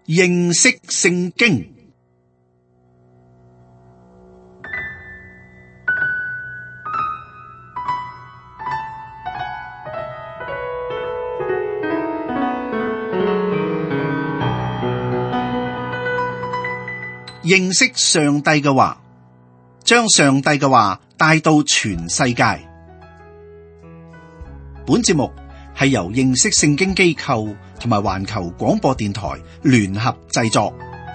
認識聖經。認識上帝嘅話，將上帝嘅話帶到全世界。本節目係由認識聖經機構同埋環球廣播電台聯合製作。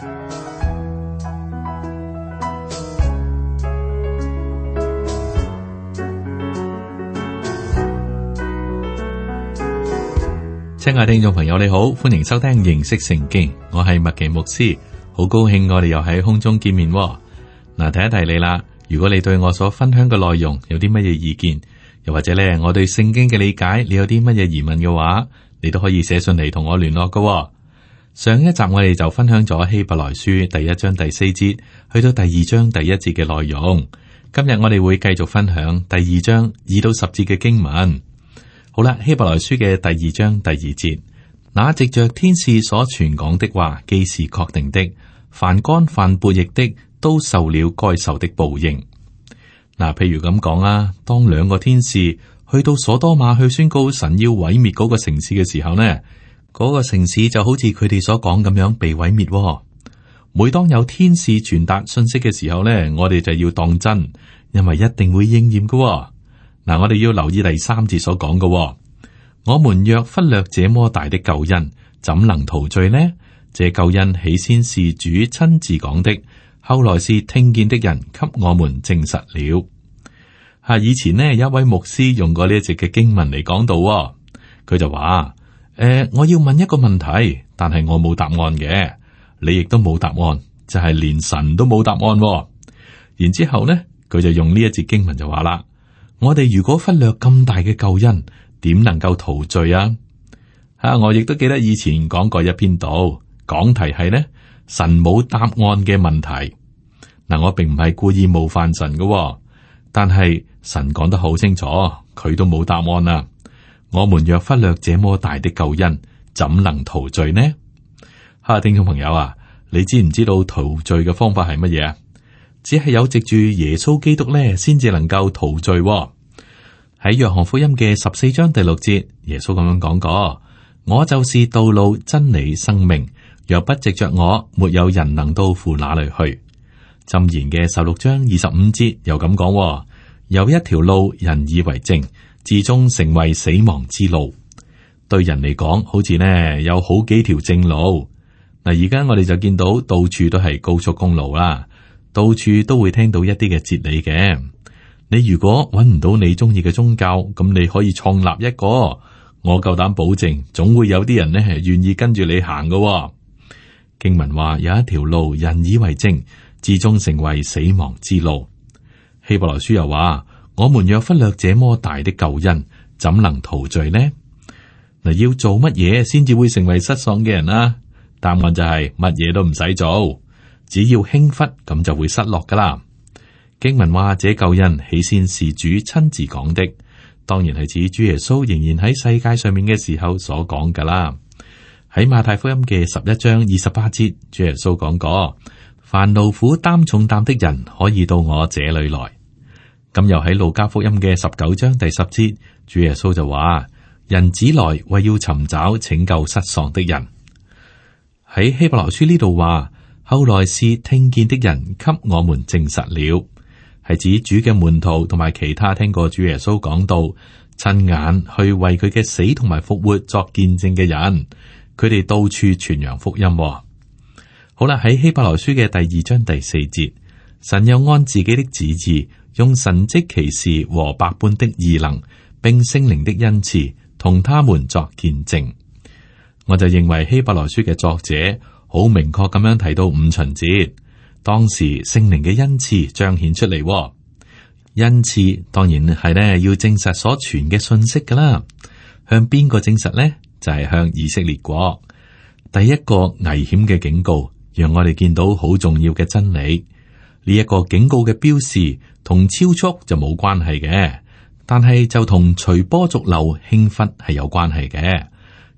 親愛的聽眾朋友，你好，歡迎收聽認識聖經，我係麥奇牧師。好高興我哋又喺空中見面喎。嗱，提一提你啦，如果你對我所分享嘅內容有啲乜嘢意見，又或者咧我對聖經嘅理解，你有啲乜嘢疑問嘅話，你都可以寫信嚟同我聯絡㗎喎。上一集我哋就分享咗希伯來書第一章第四節去到第二章第一節嘅內容。今日我哋會繼續分享第二章2到10節嘅經文。好啦，希伯來書嘅第二章第2節，那藉着天使所傳講的話，既是確定的，凡干犯悖逆的，都受了該受的報應。嗱，譬如咁講啊，當兩個天使去到所多瑪去宣告神要毀滅嗰個城市嘅時候呢，嗰個城市就好似佢哋所講咁樣被毀滅。每當有天使傳達信息嘅時候呢，我哋就要當真，因為一定會應驗㗎。嗱，我哋要留意第3節所講嘅，我們若忽略這麼大的救恩，怎能逃罪呢？這救恩起先是主親自講的，後來是聽見的人給我們證實了。以前呢，有一位牧師用過呢一節嘅經文嚟講道，佢就話：我要問一個問題，但係我冇答案嘅，你亦都冇答案，就係連神都冇答案。然之後呢，佢就用呢一節經文就話啦：我哋如果忽略咁大嘅救恩，點能夠逃罪啊？我亦都記得以前講過一篇道。講題係呢，神冇答案嘅問題。嗱，我並唔係故意冒犯神嘅，但係神講得好清楚，佢都冇答案啊。我們若忽略這麼大的救恩，怎能逃罪呢？聽眾朋友啊，你知唔知道逃罪嘅方法係乜嘢啊？只係有藉住耶穌基督呢，先至能夠逃罪。喺約翰福音嘅14章第6節，耶穌咁樣講過：我就是道路、真理、生命。若不藉着我，沒有人能到父那裏去。箴言嘅16章25節又咁講：有一條路，人以為正，至終成為死亡之路。對人嚟講，好似呢有好幾條正路。嗱，而家我哋就見到到處都係高速公路啦，到處都會聽到一啲嘅哲理嘅。你如果揾唔到你中意嘅宗教，咁你可以創立一個，我夠膽保證，總會有啲人呢係願意跟住你行嘅。經文話有一條路，人以為正，至終成為死亡之路。希伯來書又話：我們若忽略這麼大的救恩，怎能逃罪呢？嗱，要做乜嘢先至會成為失喪嘅人啊？答案就係乜嘢都唔使做，只要輕忽咁就會失落噶啦。經文話這救恩起先是主親自講的，當然係指主耶穌仍然喺世界上面嘅時候所講噶啦。喺馬太福音嘅11章28節，主耶穌講過：凡勞苦擔重擔的人，可以到我這裏來。咁又喺路加福音嘅19章第10節，主耶穌就話：人子來為要尋找拯救失喪的人。喺希伯來書呢度話：後來是聽見的人給我們證實了，係指主嘅門徒同埋其他聽過主耶穌講道、親眼去為佢嘅死同埋復活作見證嘅人。佢哋到處傳揚福音。好啦，喺希伯來書嘅第2章第4節，神又按自己的旨意，用神蹟奇事和百般的異能，並聖靈的恩賜，同他們作見證。我就認為希伯來書嘅作者好明確咁樣提到五旬節，當時聖靈嘅恩賜彰顯出嚟。恩賜當然係咧要證實所傳嘅信息噶啦，向邊個證實呢？就係向以色列國。第一個危險嘅警告，讓我哋見到好重要嘅真理。呢一個警告嘅標示同超速就冇關係嘅，但係就同隨波逐流、輕忽係有關係嘅。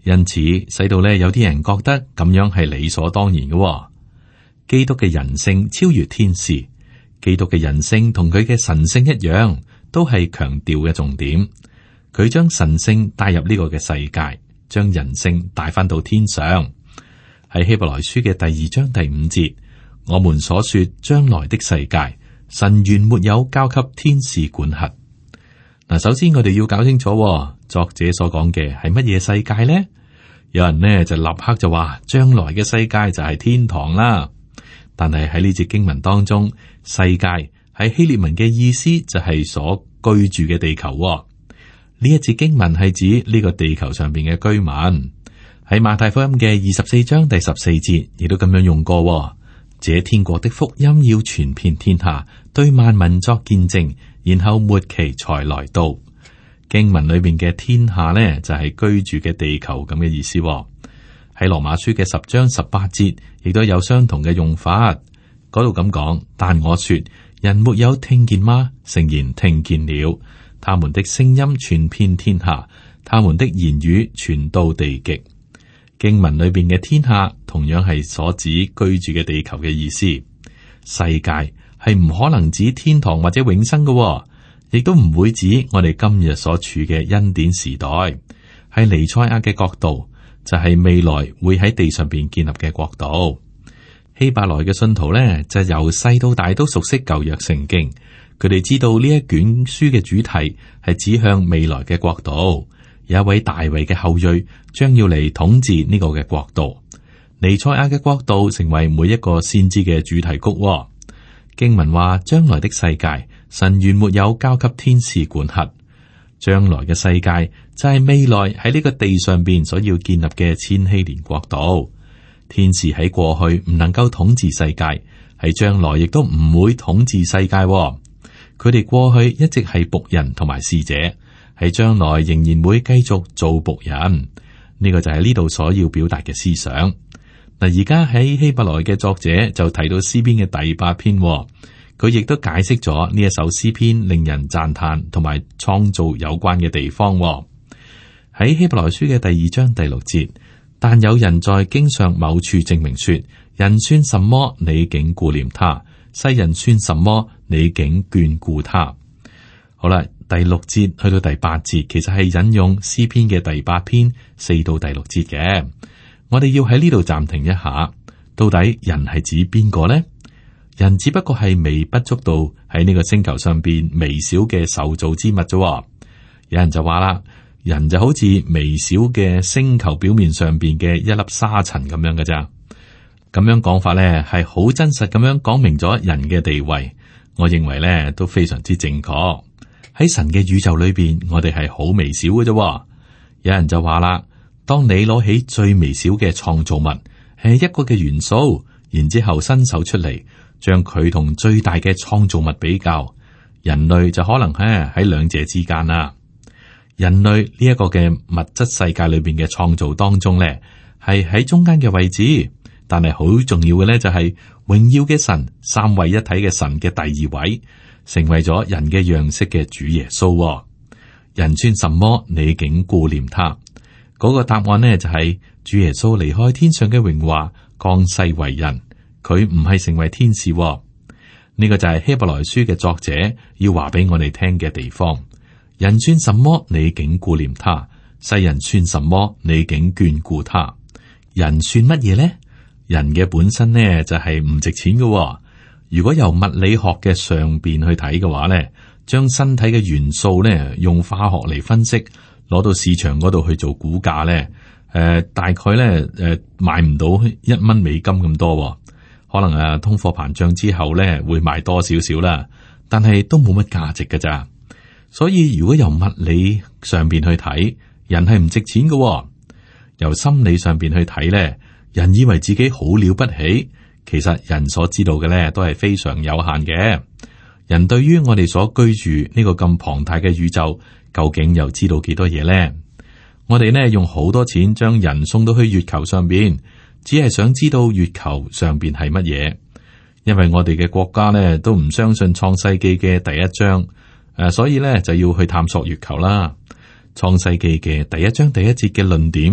因此使到咧有啲人覺得咁樣係理所當然嘅。基督嘅人性超越天使，基督嘅人性同佢嘅神性一樣，都係強調嘅重點。佢將神性帶入呢個嘅世界，將人性帶翻到天上。喺希伯來書嘅第2章第5節，我們所說將來的世界，神原沒有交給天使管轄。嗱，首先我哋要搞清楚，作者所講嘅係乜嘢世界呢？有人呢就立刻就話，將來嘅世界就係天堂啦。但係喺呢節經文當中，世界喺希臘文嘅意思就係所居住嘅地球。呢一節經文係指呢個地球上邊嘅居民。喺馬太福音嘅24章第14節，亦都咁樣用過。這天國的福音要傳遍天下，對萬民作見證，然後末期才來到。經文裏邊嘅天下呢，就係居住嘅地球咁嘅意思。喺羅馬書嘅10章18節，亦都有相同嘅用法。嗰度咁講，但我說，人沒有聽見嗎？誠然聽見了。他們的聲音傳遍天下，他們的言語傳到地極。經文裏邊嘅天下同樣係所指居住嘅地球嘅意思。世界係唔可能指天堂或者永生嘅，亦都唔會指我哋今日所處嘅恩典時代。係彌賽亞嘅國度，就係未來會喺地上邊建立嘅國度。希伯來嘅信徒呢，就由細到大都熟悉舊約聖經。佢哋知道呢一卷書嘅主題係指向未來嘅國度，有一位大衛嘅後裔將要嚟統治呢個嘅國度。彌賽亞嘅國度成為每一個先知嘅主題曲。經文話，將來的世界，神原沒有交給天使管轄。將來嘅世界就係未來喺呢個地上邊所要建立嘅千禧年國度。天使喺過去唔能夠統治世界，喺將來亦都唔會統治世界。佢哋過去一直係僕人同埋使者，喺將來仍然會繼續做僕人。呢個就係呢度所要表達嘅思想。嗱，而家喺希伯來嘅作者就提到詩篇嘅第8篇，佢亦都解釋咗呢一首詩篇令人讚嘆同埋創造有關嘅地方。喺希伯來書嘅第2章第6節，但有人在經上某處證明說，人算什麼，你竟顧念他；世人算什麼，你竟眷顧他。好啦，第6節去到第8節，其實係引用詩篇嘅第8篇4到第6節嘅。我哋要喺呢度暫停一下，到底人係指邊個呢？人只不過係微不足道喺呢個星球上邊微小嘅受造之物啫。有人就話啦，人就好似微小嘅星球表面上邊嘅一粒沙塵咁樣嘅咋。咁樣講法咧，係好真實咁樣講明咗人嘅地位。我認為咧都非常之正確。喺神嘅宇宙裏邊，我哋係好微小嘅啫。有人就話啦，當你攞起最微小嘅創造物，係一個嘅元素，然之後伸手出嚟，將佢同最大嘅創造物比較，人類就可能喺兩者之間啦。人類呢一個嘅物質世界裏邊嘅創造當中咧，係喺中間嘅位置。但係好重要嘅咧，就係榮耀嘅神，三位一體嘅神嘅第二位，成為咗人嘅樣式嘅主耶穌。人算什麼，你竟顧念他？嗰個答案呢，就係主耶穌離開天上嘅榮華，降世為人。佢唔係成為天使。呢個就係希伯來書嘅作者要話俾我哋聽嘅地方。人算什麼，你竟顧念他；世人算什麼，你竟眷顧他。人算乜嘢呢？人嘅本身呢，就係唔值錢嘅。如果由物理學嘅上邊去睇嘅話呢，將身體嘅元素呢用化學嚟分析，攞到市場嗰度去做估價呢，大概呢賣唔到1蚊美金咁多。可能通貨膨脹之後呢會賣多少少啦，但係都冇乜價值㗎咋。所以如果由物理上邊去睇，人係唔值錢嘅。由心理上邊去睇呢，人以為自己好了不起，其實人所知道嘅呢都係非常有限嘅。人對於我哋所居住呢個咁龐大嘅宇宙，究竟又知道幾多嘢呢？我哋呢用好多錢將人送到去月球上邊，只係想知道月球上邊係乜嘢。因為我哋嘅國家呢都唔相信創世記嘅第1章，所以呢就要去探索月球啦。創世記嘅第1章第1節嘅論點，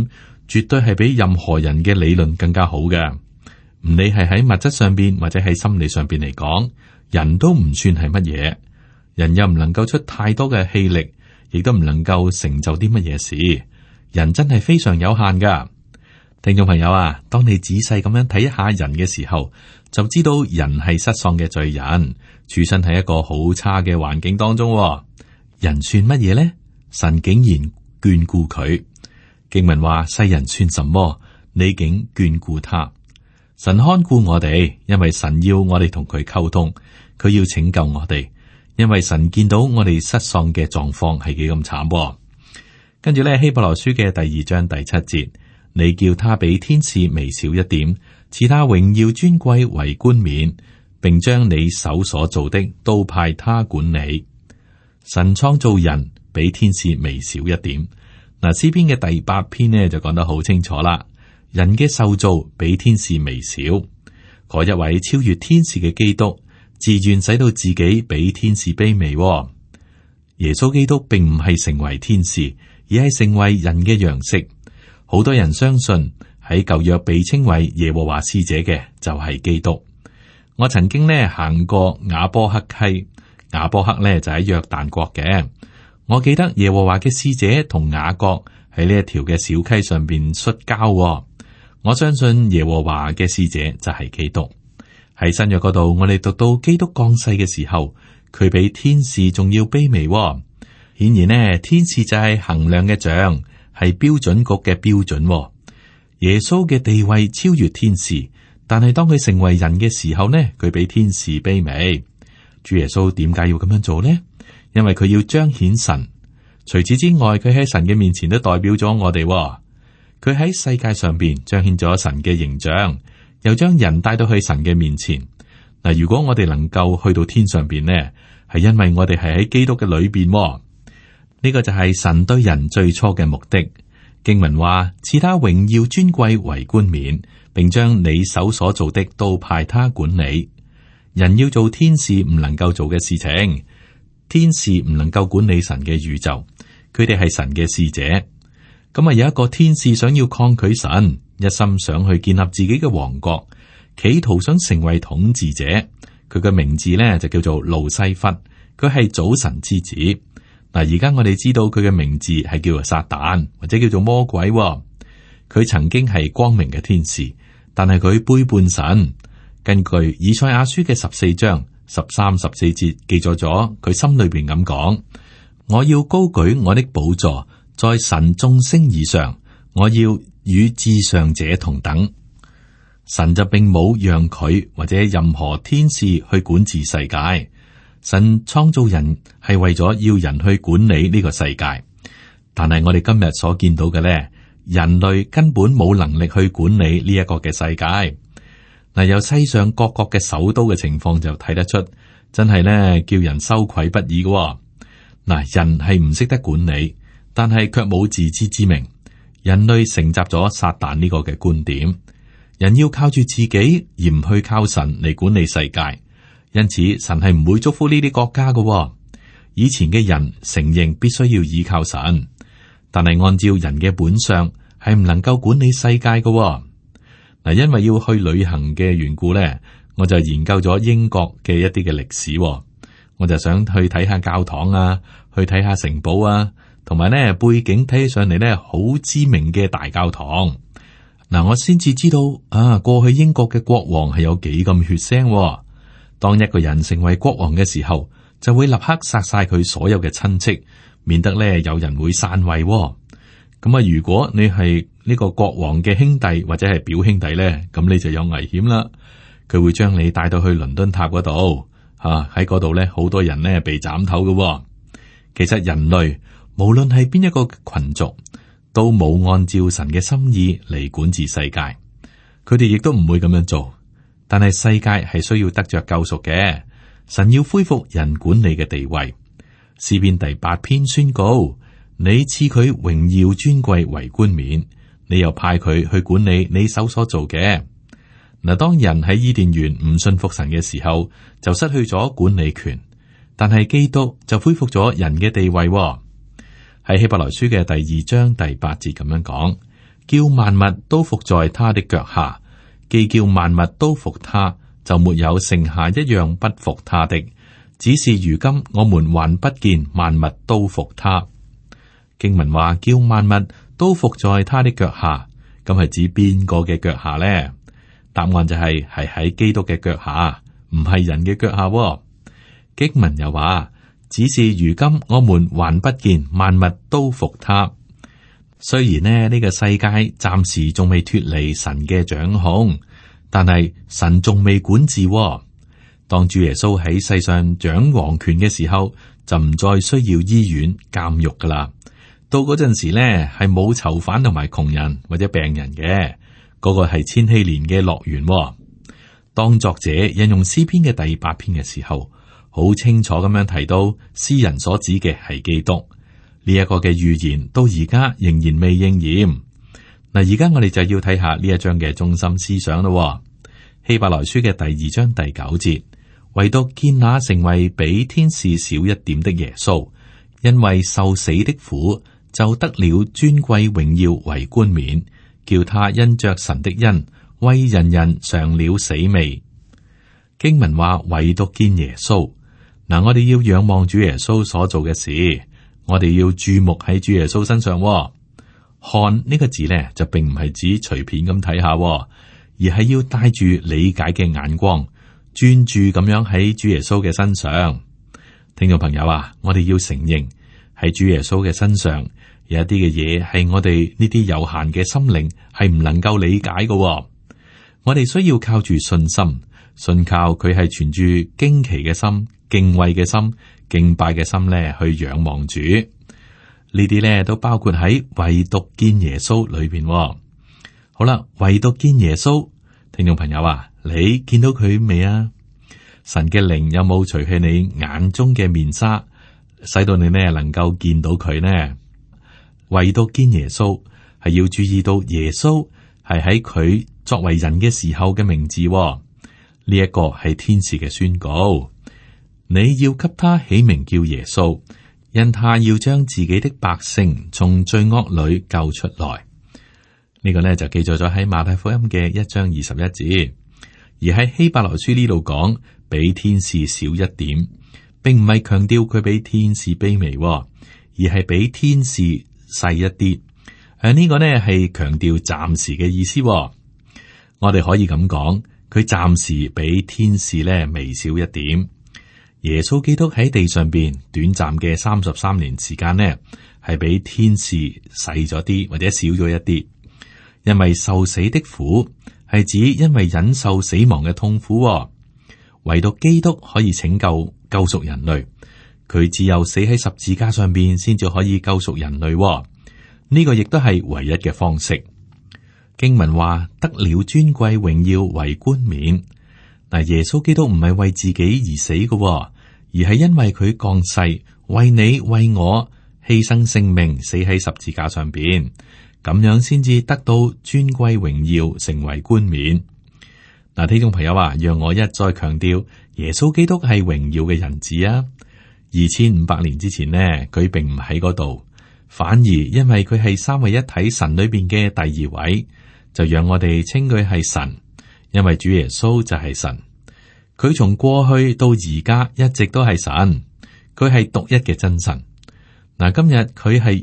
絕對係比任何人嘅理論更加好嘅。唔理係喺物質上邊或者喺心理上邊嚟講，人都唔算係乜嘢。人又唔能夠出太多嘅氣力，亦都唔能夠成就啲乜嘢事。人真係非常有限噶。聽眾朋友啊，當你仔細咁樣睇一下人嘅時候，就知道人係失喪嘅罪人，處身喺一個好差嘅環境當中。人算乜嘢呢？神竟然眷顧佢。經文話：世人算什麼？你竟眷顧他。神看顧我哋，因為神要我哋同佢溝通，佢要拯救我哋，因為神見到我哋失喪嘅狀況係幾咁慘。跟住咧，希伯來書嘅第2章第7節，你叫他比天使微小一點，賜他榮耀尊貴為冠冕，並將你手所做的都派他管理。神創造人比天使微小一點。嗱，詩篇嘅第8篇呢就講得好清楚啦。人嘅受造比天使微小，嗰一位超越天使嘅基督，自願使到自己比天使卑微。耶穌基督並唔係成為天使，而係成為人嘅樣式。好多人相信喺舊約被稱為耶和華使者嘅就係基督。我曾經呢行過雅波克溪，雅波克呢就喺約旦國嘅。我記得耶和華嘅使者同雅各喺呢一條嘅小溪上邊摔跤。我相信耶和華嘅使者就係基督。喺新約嗰度，我哋讀到基督降世嘅時候，佢比天使仲要卑微。顯然呢，天使就係衡量嘅杖，係標準局嘅標準。耶穌嘅地位超越天使，但係當佢成為人嘅時候呢，佢比天使卑微。主耶穌點解要咁樣做呢？因為佢要彰顯神。除此之外，佢喺神嘅面前都代表咗我哋。佢喺世界上邊彰顯咗神嘅形象，又將人帶到去神嘅面前。嗱，如果我哋能夠去到天上邊呢，係因為我哋係喺基督嘅裏邊。呢個就係神對人最初嘅目的。經文話：賜他榮耀尊貴為冠冕，並將你手所做的都派他管理。人要做天使唔能夠做嘅事情，天使唔能夠管理神嘅宇宙，佢哋係神嘅使者。咁啊，有一個天使想要抗拒神，一心想去建立自己嘅王國，企圖想成為統治者。佢嘅名字咧就叫做路西弗，佢係早晨之子。嗱，而家我哋知道佢嘅名字係叫做撒旦，或者叫做魔鬼。佢曾經係光明嘅天使，但係佢背叛神。根據以賽亞書嘅14章13、14節記載咗，佢心裏邊咁講：我要高舉我的寶座，在神眾星以上，我要與至上者同等。神就並冇讓佢或者任何天使去管治世界。神創造人係為咗要人去管理呢個世界，但係我哋今日所見到嘅咧，人類根本冇能力去管理呢一個嘅世界。嗱，由世上各國嘅首都嘅情況就睇得出，真係咧叫人羞愧不已嘅。嗱，人係唔識得管理，但係卻冇自知之明。人類承襲咗撒旦呢個嘅觀點，人要靠住自己而唔去靠神嚟管理世界。因此，神係唔會祝福呢啲國家嘅。以前嘅人承認必須要依靠神，但係按照人嘅本相係唔能夠管理世界嘅。嗱，因為要去旅行嘅緣故咧，我就研究咗英國嘅一啲嘅歷史。我就想去睇下教堂啊，去睇下城堡啊，同埋咧背景睇起上嚟咧好知名嘅大教堂。嗱，我先至知道啊，過去英國嘅國王係有幾咁血腥。當一個人成為國王嘅時候，就會立刻殺晒佢所有嘅親戚，免得咧有人會篡位。咁啊，如果你係呢個國王嘅兄弟或者係表兄弟咧，咁你就有危險啦。佢會將你帶到去倫敦塔嗰度，喺嗰度咧好多人咧被斬頭嘅。其實人類無論係邊一個群族，都冇按照神嘅心意嚟管治世界，佢哋亦都唔會咁樣做。但係世界係需要得着救贖嘅，神要恢復人管理嘅地位。詩篇第8篇宣告：你賜佢榮耀尊貴為冠冕，你又派佢去管理你手所做嘅。嗱，當人喺伊甸園唔信服神嘅時候，就失去咗管理權。但係基督就恢復咗人嘅地位。喺希伯來書嘅第2章第8節咁樣講： 叫萬物都伏在他的腳下，既叫萬物都服他，就沒有剩下一樣不服他的。只是如今我們還不見萬物都服他。經文話叫萬物都伏在他的腳下，咁係指邊個嘅腳下呢？答案就係喺基督嘅腳下，唔係人嘅腳下。經文又話，只是如今我們還不見萬物都服他。雖然呢個世界暫時仲未脫離神嘅掌控，但係神仲未管治。當主耶穌喺世上掌王權嘅時候，就唔再需要醫院監獄噶啦。到嗰陣時呢，係冇囚犯同埋窮人或者病人嘅，嗰個係千禧年嘅樂園。當作者引用詩篇嘅第8篇嘅時候，好清楚咁樣提到詩人所指嘅係基督。呢一個嘅預言到而家仍然未應驗。嗱，而家我哋就要睇下呢一章嘅中心思想咯。希伯來書嘅第2章第9節，唯獨見那成為比天使小一點的耶穌，因為受死的苦，就得了尊貴榮耀為冠冕，叫他因着神的恩，為人人嘗了死味。經文話唯獨見耶穌。嗱，我哋要仰望主耶穌所做嘅事。我哋要注目喺主耶穌身上。看呢個字呢，就並唔係指隨便咁睇下，而係要帶住理解嘅眼光，專注咁樣喺主耶穌嘅身上。聽眾朋友啊，我哋要承認喺主耶穌嘅身上有一啲嘅嘢係我哋呢啲有限嘅心靈係唔能夠理解嘅。我哋需要靠住信心，信靠佢係存住驚奇嘅心、敬畏嘅心、敬拜嘅心咧，去仰望主。呢啲咧都包括喺唯獨見耶穌裏邊。好啦，唯獨見耶穌，聽眾朋友啊，你見到佢未啊？神嘅靈有冇除去你眼中嘅面紗，使到你呢能夠見到佢呢？唯獨見耶穌係要注意到耶穌係喺佢作為人嘅時候嘅名字。呢一個係天使嘅宣告。你要給他起名叫耶穌，因他要將自己的百姓從罪惡裏救出來。呢個呢就記載咗喺馬太福音嘅1章21節，而喺希伯來書呢度講比天使小一點，並唔係強調佢比天使卑微，而係比天使細一啲。呢個呢係強調暫時嘅意思。我哋可以咁講，佢暫時比天使呢微小一點。耶穌基督喺地上邊短暫嘅33年時間呢，係比天使細咗啲或者少咗一啲。因為受死的苦係指因為忍受死亡嘅痛苦。唯獨基督可以拯救贖人類，佢只有死喺十字架上邊先至可以救贖人類。呢個亦都係唯一嘅方式。經文話得了尊貴榮耀為冠冕。嗱，耶穌基督唔係為自己而死嘅，而係因為佢降世，為你為我犧牲性命，死喺十字架上邊，咁樣先至得到尊貴榮耀，成為冠冕。嗱，聽眾朋友啊，讓我一再強調，耶穌基督係榮耀嘅人子啊！2500年之前呢，佢並唔喺嗰度，反而因為佢係三位一體神裏邊嘅第二位，就讓我哋稱佢係神。因為主耶穌就係神，佢從過去到而家一直都係神，佢係獨一嘅真神。嗱，今日佢係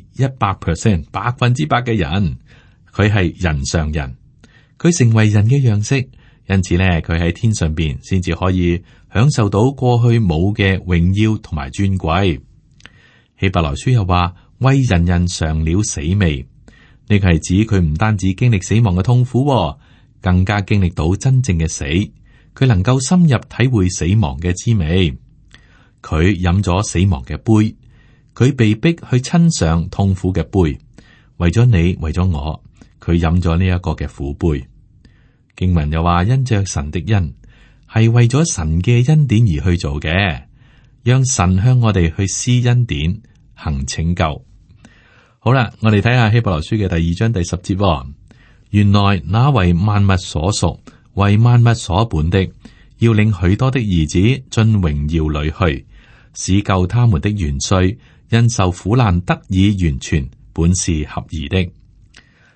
100%100%嘅人，佢係人上人，佢成為人嘅樣式，因此咧，佢喺天上邊先至可以享受到過去冇嘅榮耀同埋尊貴。希伯來書又話為人人嘗了死味，呢個係指佢唔單止經歷死亡嘅痛苦，更加經歷到真正嘅死，佢能夠深入體會死亡嘅滋味。佢飲咗死亡嘅杯，佢被逼去親嘗痛苦嘅杯，為咗你，為咗我，佢飲咗呢一個嘅苦杯。經文又話因着神的恩，係為咗神嘅恩典而去做嘅，讓神向我哋去施恩典，行拯救。好啦，我哋睇下希伯來書嘅第2章第10節。原來那為萬物所屬、為萬物所本的，要領許多的兒子進榮耀裏去，使救他們的元帥因受苦難得以完全，本是合宜的。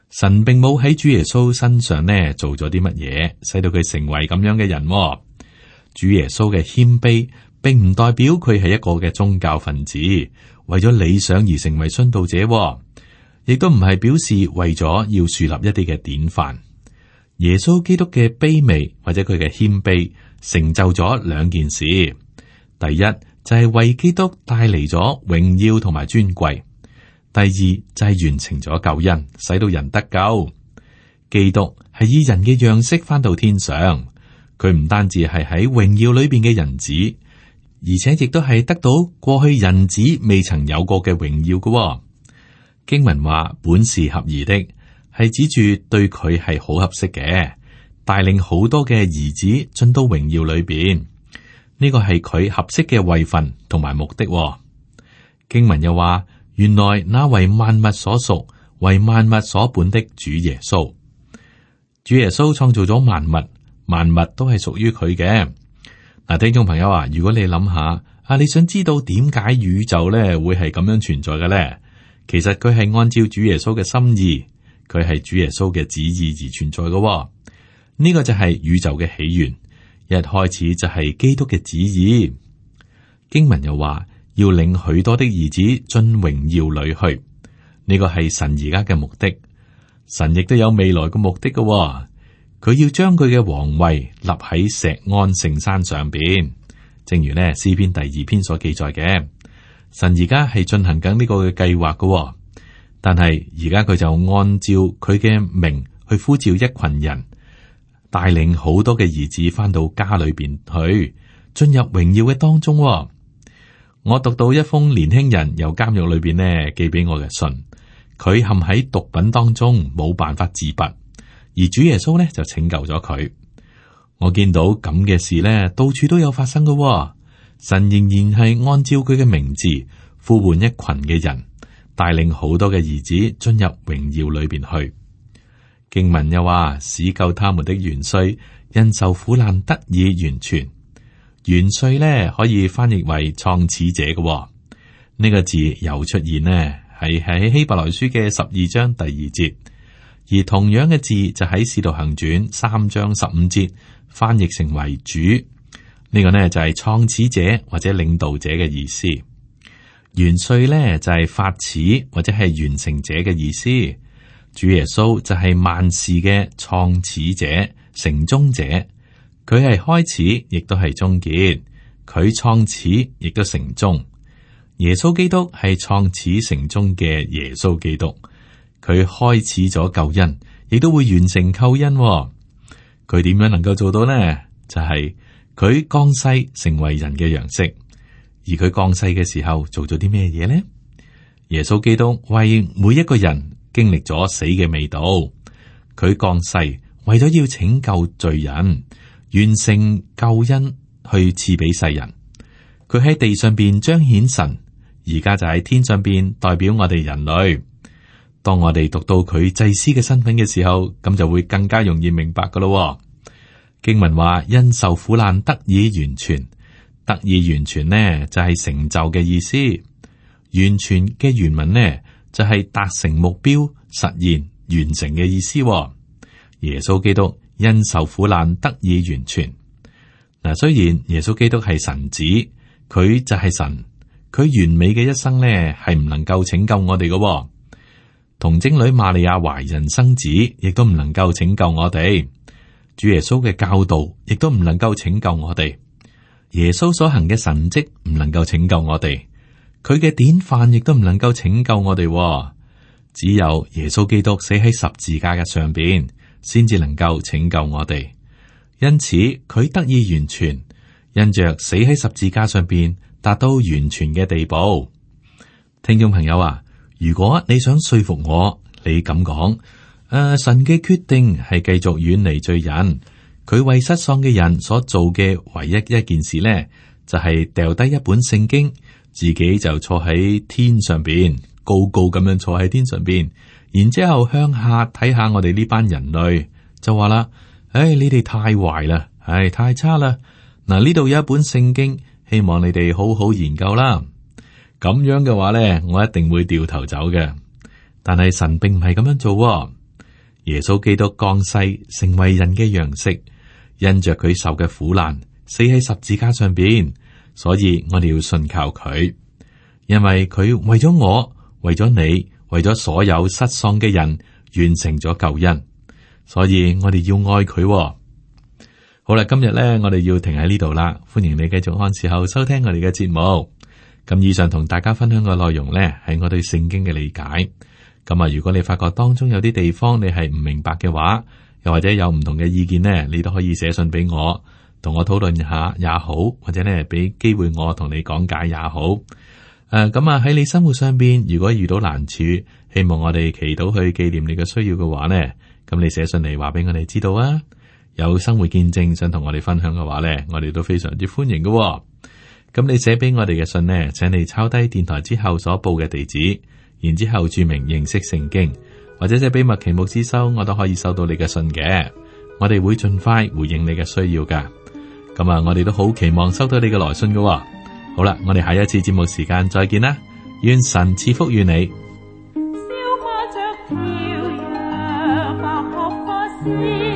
神並冇喺主耶穌身上呢做咗啲乜嘢，使到佢成為咁樣嘅人。主耶穌嘅謙卑，並唔代表佢係一個嘅宗教分子，為咗理想而成為殉道者，亦都唔係表示為咗要樹立一啲嘅典範。耶穌基督嘅卑微或者佢嘅謙卑，成就咗兩件事。第一就係為基督帶嚟咗榮耀同埋尊貴。第二就係完成咗救恩，使到人得救。基督係以人嘅樣式返到天上，佢唔單止係喺榮耀裏邊嘅人子，而且亦都係得到過去人子未曾有過嘅榮耀嘅。經文話本是合宜的，係指住對佢係好合適嘅，帶領好多嘅兒子進到榮耀裏邊。呢個係佢合適嘅位份同埋目的。經文又話，原來那為萬物所屬、為萬物所本的主耶穌，主耶穌創造咗萬物，萬物都係屬於佢嘅。嗱，聽眾朋友啊，如果你諗下你想知道點解宇宙咧會係咁樣存在嘅咧？其實佢係按照主耶穌嘅心意，佢係主耶穌嘅旨意而存在嘅。呢個就係宇宙嘅起源，一開始就係基督嘅旨意。經文又話，要領許多的兒子進榮耀裏去，呢個係神而家嘅目的。神亦都有未來嘅目的嘅，佢要將佢嘅皇位立喺錫安聖山上邊。正如呢詩篇第2篇所記載嘅，神而家係進行緊呢個嘅計劃嘅，但係而家佢就按照佢嘅名去呼召一群人，帶領好多嘅兒子翻到家裏邊去，進入榮耀嘅當中。我讀到一封年輕人由監獄裏邊呢寄俾我嘅信，佢陷喺毒品當中，冇辦法自拔，而主耶穌呢就拯救咗佢。我見到咁嘅事呢，到處都有發生嘅。神仍然係按照佢嘅名字呼喚一群嘅人，帶領好多嘅兒子進入榮耀裏邊去。經文又話，使救他們的元帥因受苦難得以完全。元帥呢可以翻譯為創始者嘅，呢個字又出現呢係喺希伯來書嘅12章第2節，而同樣嘅字就喺使徒行傳3章15節翻譯成為主。呢個呢就係創始者或者領導者嘅意思。元帥呢就係發始或者係完成者嘅意思。主耶穌就係萬事嘅創始者、成終者。佢係開始，亦都係終結。佢創始，亦都成終。耶穌基督係創始成終嘅耶穌基督。佢開始咗救恩，亦都會完成救恩。佢點樣能夠做到呢？就係佢降世成為人嘅樣式。而佢降世嘅時候做咗啲咩嘢呢？耶穌基督為每一個人經歷咗死嘅味道。佢降世為咗要拯救罪人，完成救恩去賜俾世人。佢喺地上邊彰顯神，而家就喺天上邊代表我哋人類。當我哋讀到佢祭司嘅身份嘅時候，咁就會更加容易明白噶咯。經文話因受苦難得以完全，得以完全呢就係成就嘅意思。完全嘅原文呢就係達成目標、實現、完成嘅意思。耶穌基督因受苦難得以完全。嗱，雖然耶穌基督係神子，佢就係神，佢完美嘅一生呢係唔能夠拯救我哋嘅。童貞女瑪利亞懷孕生子，亦都唔能夠拯救我哋。主耶穌嘅教導亦都唔能夠拯救我哋。耶穌所行嘅神蹟唔能夠拯救我哋，佢嘅典範亦都唔能夠拯救我哋。只有耶穌基督死喺十字架嘅上邊，先至能夠拯救我哋。因此佢得以完全，因着死喺十字架上邊，達到完全嘅地步。聽眾朋友啊，如果你想說服我，你咁講，神嘅決定係繼續遠離罪人，佢為失喪嘅人所做嘅唯一一件事呢，就係掉低一本聖經，自己就坐喺天上邊，高高咁樣坐喺天上邊，然之後向下睇下我哋呢班人類，就話啦：你哋太壞啦，太差啦。嗱，呢度有一本聖經，希望你哋好好研究啦。咁樣嘅話呢，我一定會掉頭走嘅。但係神並唔係咁樣做。 耶穌基督降世成為人嘅樣式，因着佢受嘅苦難，死喺十字架上邊，所以我哋要信靠佢，因為佢為咗我，為咗你，為咗所有失喪嘅人，完成咗救恩，所以我哋要愛佢。好啦，今日咧，我哋要停喺呢度啦。歡迎你繼續按時候收聽我哋嘅節目。咁以上同大家分享嘅內容咧，係我對聖經嘅理解。咁啊，如果你發覺當中有啲地方你係唔明白嘅話，又或者有唔同嘅意見呢，你都可以寫信俾我，同我討論下也好，或者咧俾機會我同你講解也好。咁啊喺你生活上邊，如果遇到難處，希望我哋祈禱去紀念你嘅需要嘅話呢，咁你寫信嚟話俾我哋知道啊。有生活見證想同我哋分享嘅話呢，我哋都非常之歡迎嘅。咁你寫俾我哋嘅信呢，請你抄低電台之後所報嘅地址，然之後注明認識聖經，或者寫俾麥奇牧師收，我都可以收到你嘅信嘅。我哋會盡快回應你嘅需要噶。咁啊，我哋都好期望收到你嘅來信嘅。好啦，我哋下一次節目時間再見啦，願神賜福於你。 燒花着跳躍，白鶴發絲